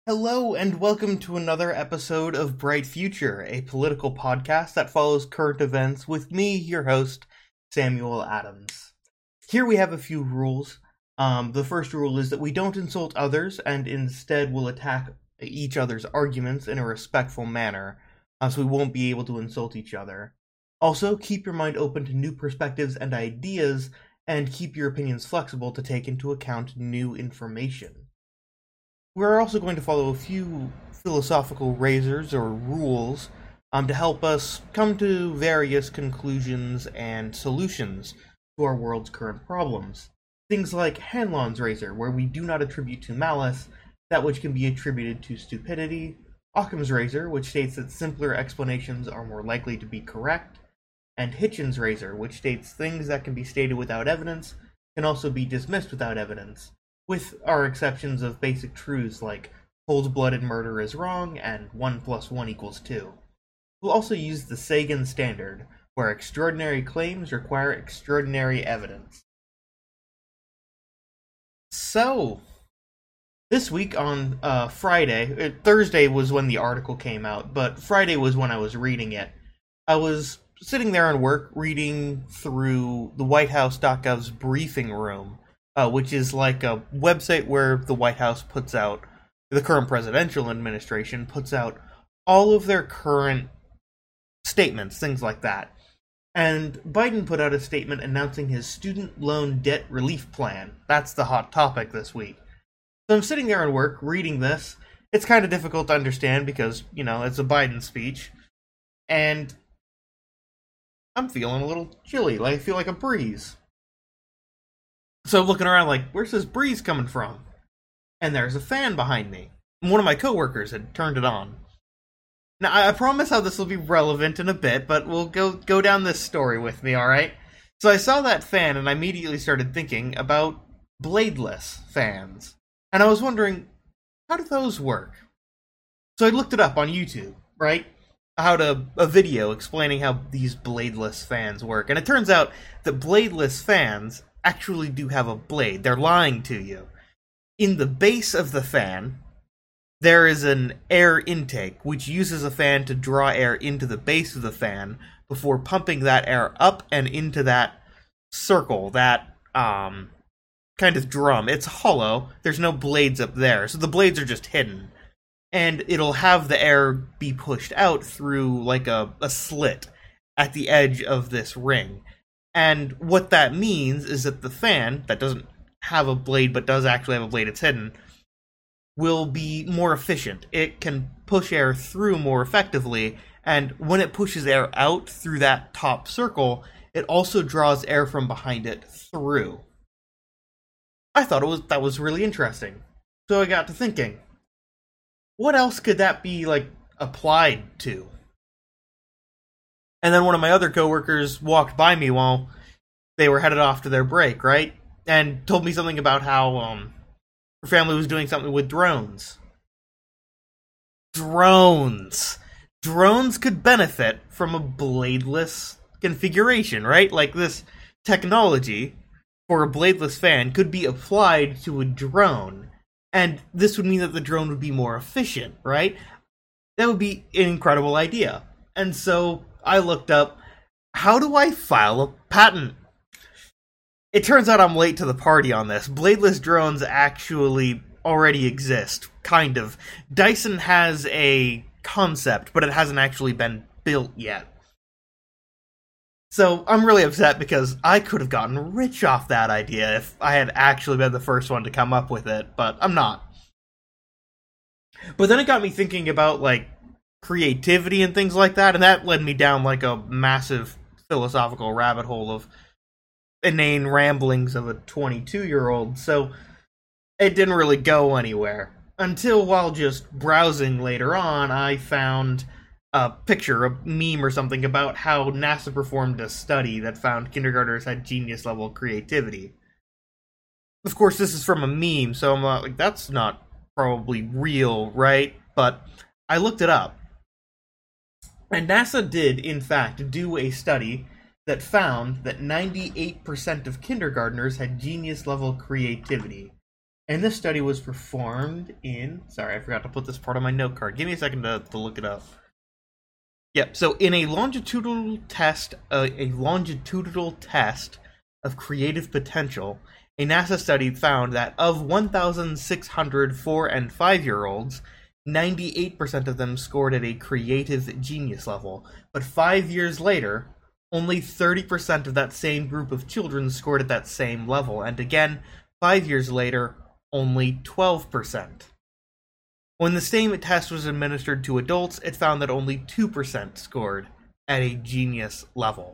Hello, and welcome to another episode of Bright Future, a political podcast that follows current events with me, your host, Samuel Adams. Here we have a few rules. The first rule is that we don't insult others, and instead will attack each other's arguments in a respectful manner, so we won't be able to insult each other. Also, keep your mind open to new perspectives and ideas, and keep your opinions flexible to take into account new information. We're also going to follow a few philosophical razors or rules to help us come to various conclusions and solutions to our world's current problems. Things like Hanlon's razor, where we do not attribute to malice that which can be attributed to stupidity, Occam's razor, which states that simpler explanations are more likely to be correct, and Hitchens' razor, which states things that can be stated without evidence can also be dismissed without evidence, with our exceptions of basic truths like cold-blooded murder is wrong and 1 + 1 = 2. We'll also use the Sagan standard, where extraordinary claims require extraordinary evidence. So, this week on Friday, Thursday was when the article came out, but Friday was when I was reading it. I was sitting there on work reading through the WhiteHouse.gov's briefing room, which is like a website where the White House puts out, the current presidential administration puts out all of their current statements, things like that. And Biden put out a statement announcing his student loan debt relief plan. That's the hot topic this week. So I'm sitting there at work reading this. It's kind of difficult to understand because, it's a Biden speech. And I'm feeling a little chilly, I feel like a breeze. So I'm looking around like, where's this breeze coming from? And there's a fan behind me. One of my coworkers had turned it on. Now, I promise how this will be relevant in a bit, but we'll go down this story with me, alright? So I saw that fan, and I immediately started thinking about bladeless fans. And I was wondering, how do those work? So I looked it up on YouTube, right? A video explaining how these bladeless fans work. And it turns out that bladeless fans actually do have a blade. They're lying to you. In the base of the fan, there is an air intake, which uses a fan to draw air into the base of the fan before pumping that air up and into that circle, that kind of drum. It's hollow. There's no blades up there, so the blades are just hidden. And it'll have the air be pushed out through like a slit at the edge of this ring. And what that means is that the fan, that doesn't have a blade but does actually have a blade, it's hidden, will be more efficient. It can push air through more effectively, and when it pushes air out through that top circle, it also draws air from behind it through. I thought that was really interesting. So I got to thinking, what else could that be, applied to? And then one of my other coworkers walked by me while they were headed off to their break, right? And told me something about how her family was doing something with drones. Drones could benefit from a bladeless configuration, right? Like this technology for a bladeless fan could be applied to a drone. And this would mean that the drone would be more efficient, right? That would be an incredible idea. And so I looked up, how do I file a patent? It turns out I'm late to the party on this. Bladeless drones actually already exist, kind of. Dyson has a concept, but it hasn't actually been built yet. So I'm really upset because I could have gotten rich off that idea if I had actually been the first one to come up with it, but I'm not. But then it got me thinking about, creativity and things like that, and that led me down a massive philosophical rabbit hole of inane ramblings of a 22-year-old, so it didn't really go anywhere. Until while just browsing later on, I found a picture, a meme or something about how NASA performed a study that found kindergartners had genius-level creativity. Of course, this is from a meme, so I'm like, that's not probably real, right? But I looked it up. And NASA did, in fact, do a study that found that 98% of kindergartners had genius-level creativity. And this study was performed in... Sorry, I forgot to put this part on my note card. Give me a second to look it up. Yep, so in a longitudinal test of creative potential, a NASA study found that of 1,600 4- and 5-year-olds, 98% of them scored at a creative genius level. But 5 years later, only 30% of that same group of children scored at that same level. And again, 5 years later, only 12%. When the same test was administered to adults, it found that only 2% scored at a genius level.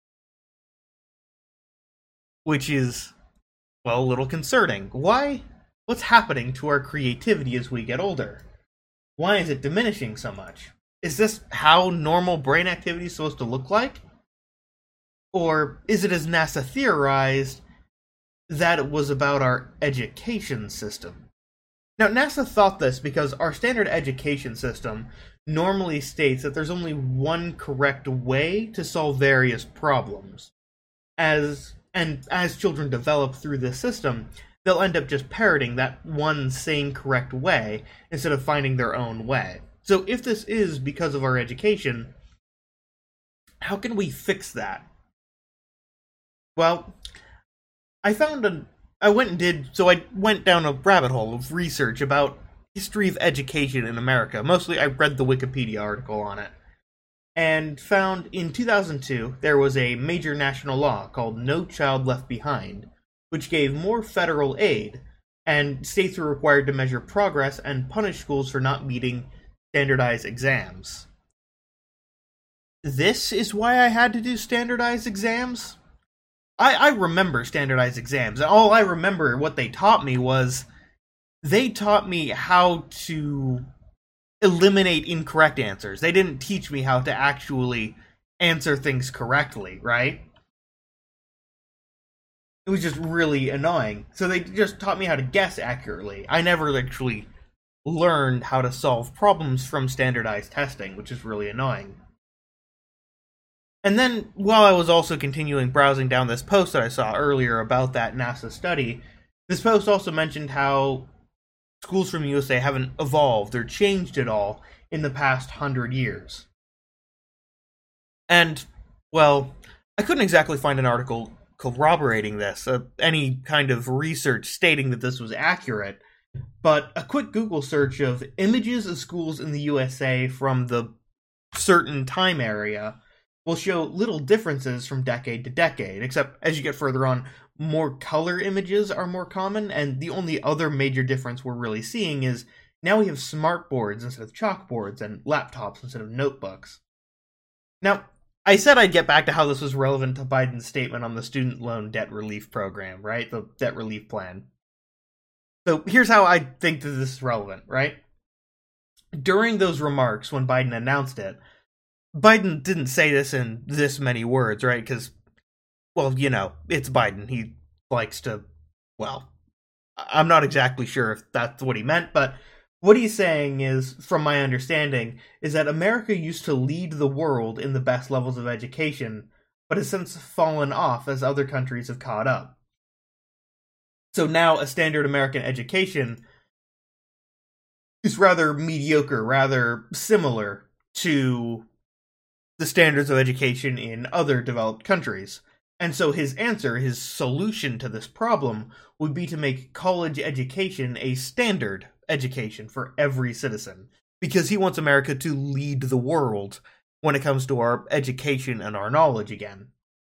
Which is, well, a little concerning. Why? What's happening to our creativity as we get older? Why is it diminishing so much? Is this how normal brain activity is supposed to look like? Or is it, as NASA theorized, that it was about our education system? Now, NASA thought this because our standard education system normally states that there's only one correct way to solve various problems. As children develop through this system, they'll end up just parroting that one same correct way instead of finding their own way. So if this is because of our education, how can we fix that? Well, I went down a rabbit hole of research about history of education in America. Mostly I read the Wikipedia article on it. And found in 2002 there was a major national law called No Child Left Behind, which gave more federal aid, and states were required to measure progress and punish schools for not meeting standardized exams. This is why I had to do standardized exams? I remember standardized exams, and all I remember what they taught me was they taught me how to eliminate incorrect answers. They didn't teach me how to actually answer things correctly, right? It was just really annoying. So they just taught me how to guess accurately. I never actually learned how to solve problems from standardized testing, which is really annoying. And then, while I was also continuing browsing down this post that I saw earlier about that NASA study, this post also mentioned how schools from the USA haven't evolved or changed at all in the past 100 years. And, well, I couldn't exactly find an article corroborating this, any kind of research stating that this was accurate, but a quick Google search of images of schools in the USA from the certain time area will show little differences from decade to decade, except as you get further on, more color images are more common, and the only other major difference we're really seeing is now we have smart boards instead of chalkboards and laptops instead of notebooks. Now, I said I'd get back to how this was relevant to Biden's statement on the student loan debt relief program, right? The debt relief plan. So here's how I think that this is relevant, right? During those remarks when Biden announced it, Biden didn't say this in this many words, right? Because, well, you know, it's Biden. He likes to, well, I'm not exactly sure if that's what he meant, but what he's saying is, from my understanding, is that America used to lead the world in the best levels of education, but has since fallen off as other countries have caught up. So now a standard American education is rather mediocre, rather similar to the standards of education in other developed countries. And so his answer, his solution to this problem, would be to make college education a standard education for every citizen, because he wants America to lead the world when it comes to our education and our knowledge again.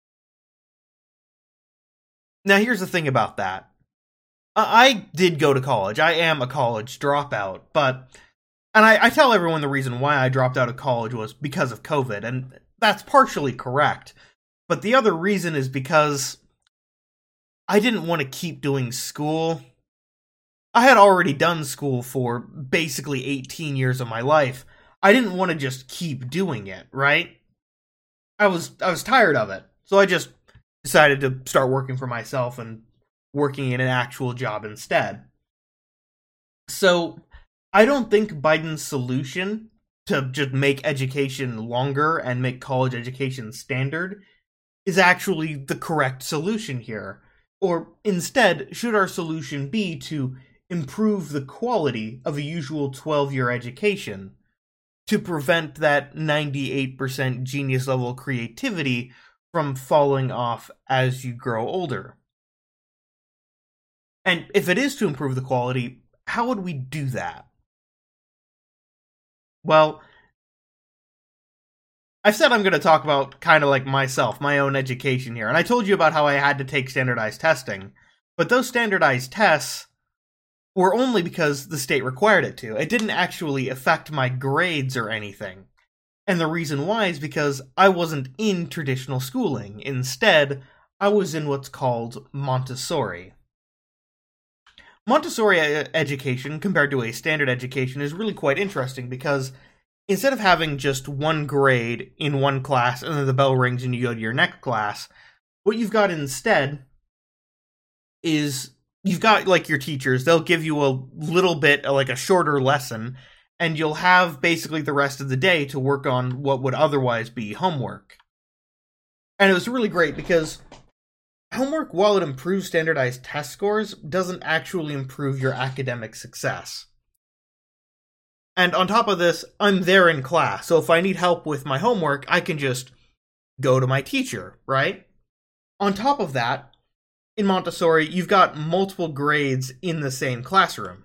Now here's the thing about that. I did go to college. I am a college dropout, and I tell everyone the reason why I dropped out of college was because of COVID, and that's partially correct. But the other reason is because I didn't want to keep doing school. I had already done school for basically 18 years of my life. I didn't want to just keep doing it, right? I was tired of it. So I just decided to start working for myself and working in an actual job instead. So I don't think Biden's solution to just make education longer and make college education standard is actually the correct solution here. Or instead, should our solution be to improve the quality of a usual 12-year education to prevent that 98% genius level creativity from falling off as you grow older. And if it is to improve the quality, how would we do that? Well, I've said I'm going to talk about kind of like myself, my own education here. And I told you about how I had to take standardized testing. But those standardized tests were only because the state required it to. It didn't actually affect my grades or anything. And the reason why is because I wasn't in traditional schooling. Instead, I was in what's called Montessori. Montessori education, compared to a standard education, is really quite interesting because instead of having just one grade in one class and then the bell rings and you go to your next class, what you've got instead is you've got like your teachers. They'll give you a little bit, like a shorter lesson, and you'll have basically the rest of the day to work on what would otherwise be homework. And it was really great because homework, while it improves standardized test scores, doesn't actually improve your academic success. And on top of this, I'm there in class, so if I need help with my homework, I can just go to my teacher, right? On top of that, in Montessori, you've got multiple grades in the same classroom.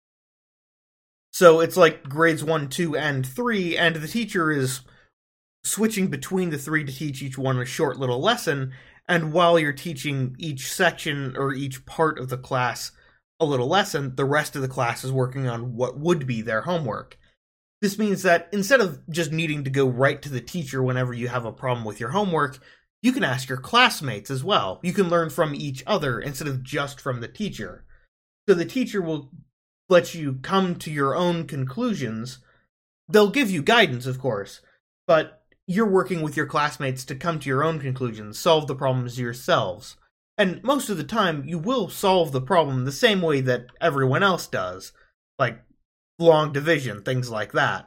So it's like grades 1, 2, and 3, and the teacher is switching between the three to teach each one a short little lesson, and while you're teaching each section or each part of the class a little lesson, the rest of the class is working on what would be their homework. This means that instead of just needing to go right to the teacher whenever you have a problem with your homework, you can ask your classmates as well. You can learn from each other instead of just from the teacher. So the teacher will let you come to your own conclusions. They'll give you guidance, of course, but you're working with your classmates to come to your own conclusions, solve the problems yourselves. And most of the time, you will solve the problem the same way that everyone else does, like long division, things like that.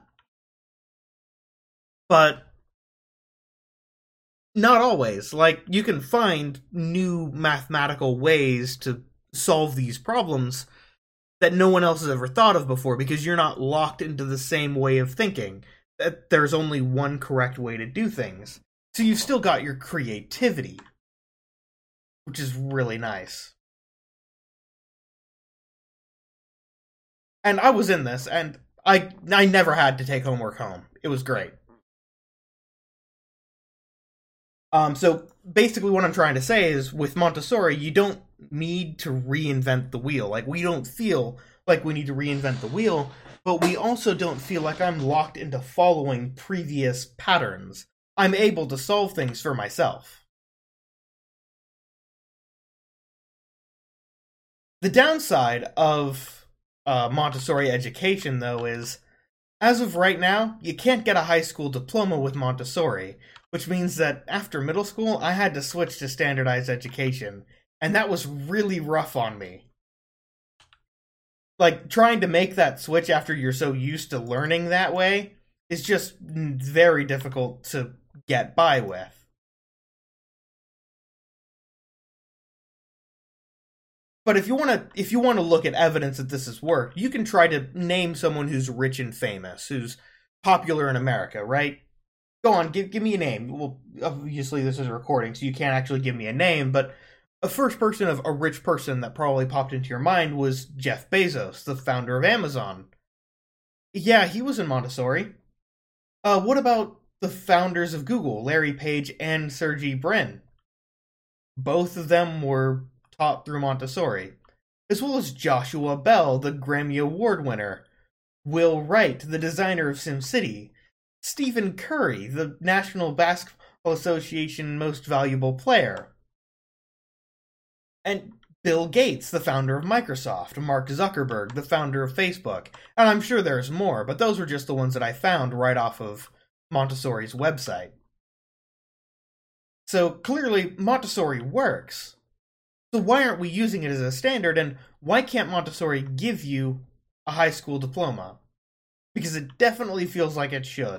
But not always. Like, you can find new mathematical ways to solve these problems that no one else has ever thought of before, because you're not locked into the same way of thinking. That there's only one correct way to do things. So you've still got your creativity, which is really nice. And I was in this, and I never had to take homework home. It was great. So basically what I'm trying to say is, with Montessori, you don't need to reinvent the wheel. Like, we don't feel like we need to reinvent the wheel, but we also don't feel like I'm locked into following previous patterns. I'm able to solve things for myself. The downside of Montessori education, though, is, as of right now, you can't get a high school diploma with Montessori, which means that after middle school, I had to switch to standardized education, and that was really rough on me. Like, trying to make that switch after you're so used to learning that way is just very difficult to get by with. But if you want to look at evidence that this has worked, you can try to name someone who's rich and famous, who's popular in America, right? Go on, give me a name. Well, obviously this is a recording, so you can't actually give me a name, but a first person of a rich person that probably popped into your mind was Jeff Bezos, the founder of Amazon. Yeah, he was in Montessori. What about the founders of Google, Larry Page and Sergey Brin? Both of them were taught through Montessori. As well as Joshua Bell, the Grammy Award winner. Will Wright, the designer of SimCity. Stephen Curry, the National Basketball Association Most Valuable Player. And Bill Gates, the founder of Microsoft. Mark Zuckerberg, the founder of Facebook. And I'm sure there's more, but those were just the ones that I found right off of Montessori's website. So clearly, Montessori works. So why aren't we using it as a standard, and why can't Montessori give you a high school diploma? Because it definitely feels like it should.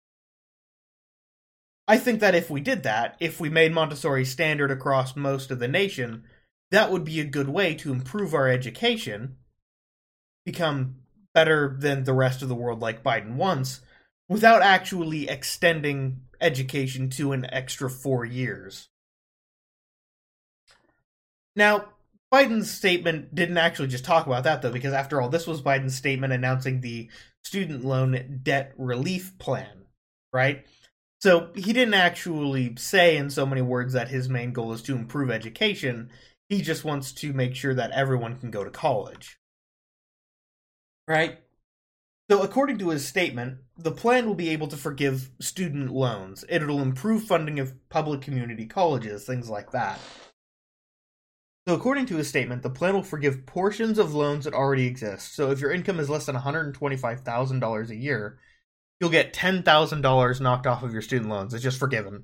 I think that if we did that, if we made Montessori standard across most of the nation, that would be a good way to improve our education, become better than the rest of the world like Biden wants, without actually extending education to an extra 4 years. Now, Biden's statement didn't actually just talk about that, though, because after all, this was Biden's statement announcing the student loan debt relief plan, right? So he didn't actually say in so many words that his main goal is to improve education. He just wants to make sure that everyone can go to college, right? So according to his statement, the plan will be able to forgive student loans. It'll improve funding of public community colleges, things like that. So according to his statement, the plan will forgive portions of loans that already exist. So if your income is less than $125,000 a year, you'll get $10,000 knocked off of your student loans. It's just forgiven.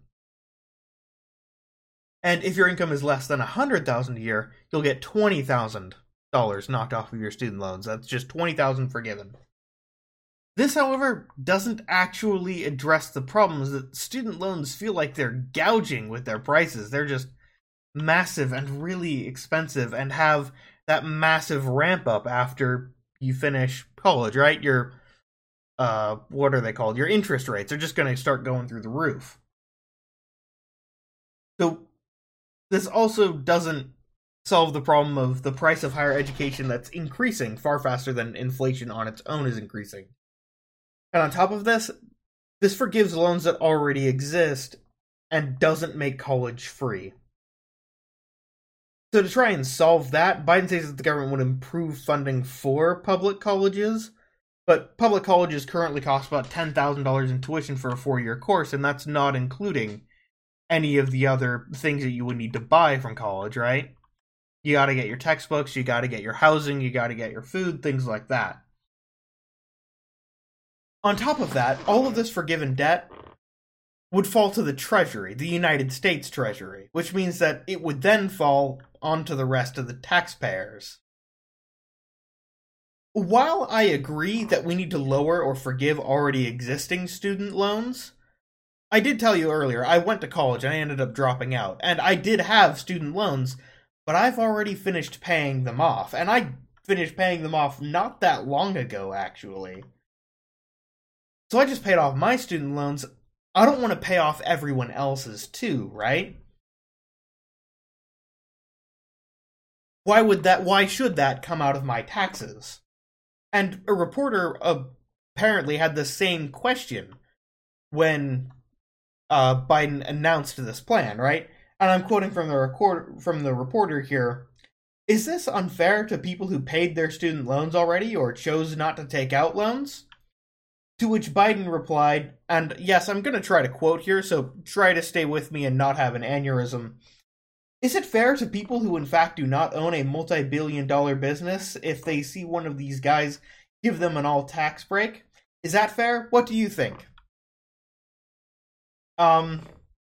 And if your income is less than $100,000 a year, you'll get $20,000 knocked off of your student loans. That's just $20,000 forgiven. This, however, doesn't actually address the problems that student loans feel like they're gouging with their prices. They're just massive and really expensive and have that massive ramp up after you finish college, right? Your what are they called? Your interest rates are just going to start going through the roof. So this also doesn't solve the problem of the price of higher education that's increasing far faster than inflation on its own is increasing. And on top of this, this forgives loans that already exist and doesn't make college free. So to try and solve that, Biden says that the government would improve funding for public colleges, but public colleges currently cost about $10,000 in tuition for a 4-year course, and that's not including any of the other things that you would need to buy from college, right? You gotta get your textbooks, you gotta get your housing, you gotta get your food, things like that. On top of that, all of this forgiven debt would fall to the Treasury, the United States Treasury, which means that it would then fall onto the rest of the taxpayers. While I agree that we need to lower or forgive already existing student loans, I did tell you earlier, I went to college and I ended up dropping out, and I did have student loans, but I've already finished paying them off, and I finished paying them off not that long ago, actually. So I just paid off my student loans. I don't want to pay off everyone else's too, right? Why should that come out of my taxes? And a reporter apparently had the same question when Biden announced this plan, right? And I'm quoting from the reporter here. Is this unfair to people who paid their student loans already or chose not to take out loans? To which Biden replied, and yes, I'm going to try to quote here, so try to stay with me and not have an aneurysm. Is it fair to people who in fact do not own a multi-billion-dollar business if they see one of these guys give them an all-tax break? Is that fair? What do you think? Biden,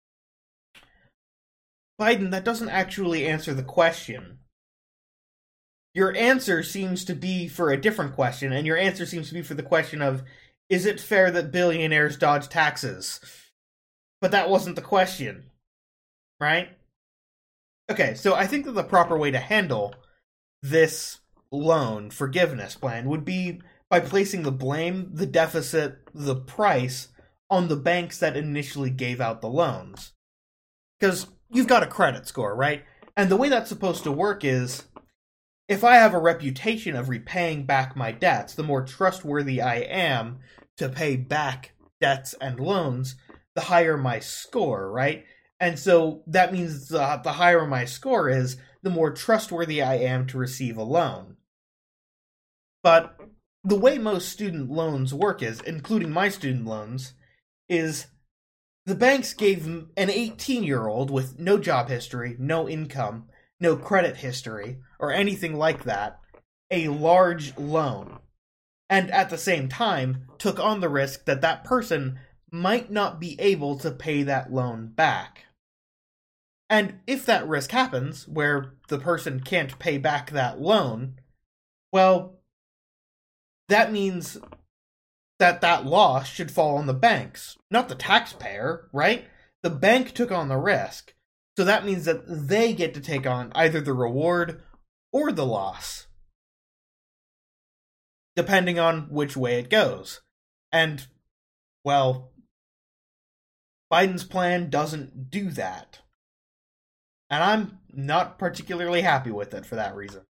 that doesn't actually answer the question. Your answer seems to be for a different question, and your answer seems to be for the question of, is it fair that billionaires dodge taxes? But that wasn't the question, right? Okay, so I think that the proper way to handle this loan forgiveness plan would be by placing the blame, the deficit, the price on the banks that initially gave out the loans. Because you've got a credit score, right? And the way that's supposed to work is, if I have a reputation of repaying back my debts, the more trustworthy I am to pay back debts and loans, the higher my score, right? And so that means the higher my score is, the more trustworthy I am to receive a loan. But the way most student loans work is, including my student loans, is the banks gave an 18-year-old with no job history, no income, no credit history, or anything like that, a large loan. And at the same time, took on the risk that that person might not be able to pay that loan back. And if that risk happens, where the person can't pay back that loan, well, that means that loss should fall on the banks, not the taxpayer, right? The bank took on the risk. So that means that they get to take on either the reward or the loss. depending on which way it goes. And, well, Biden's plan doesn't do that. And I'm not particularly happy with it for that reason.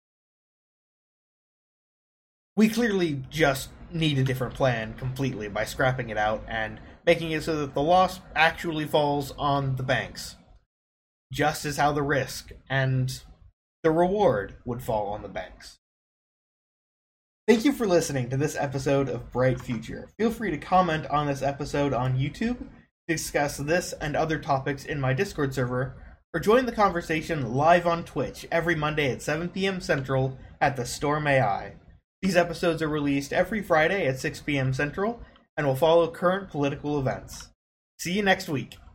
We clearly just need a different plan completely by scrapping it out and making it so that the loss actually falls on the banks. Just as how the risk and the reward would fall on the banks. Thank you for listening to this episode of Bright Future. Feel free to comment on this episode on YouTube, discuss this and other topics in my Discord server, or join the conversation live on Twitch every Monday at 7 p.m. Central at the Storm AI. These episodes are released every Friday at 6 p.m. Central and will follow current political events. See you next week.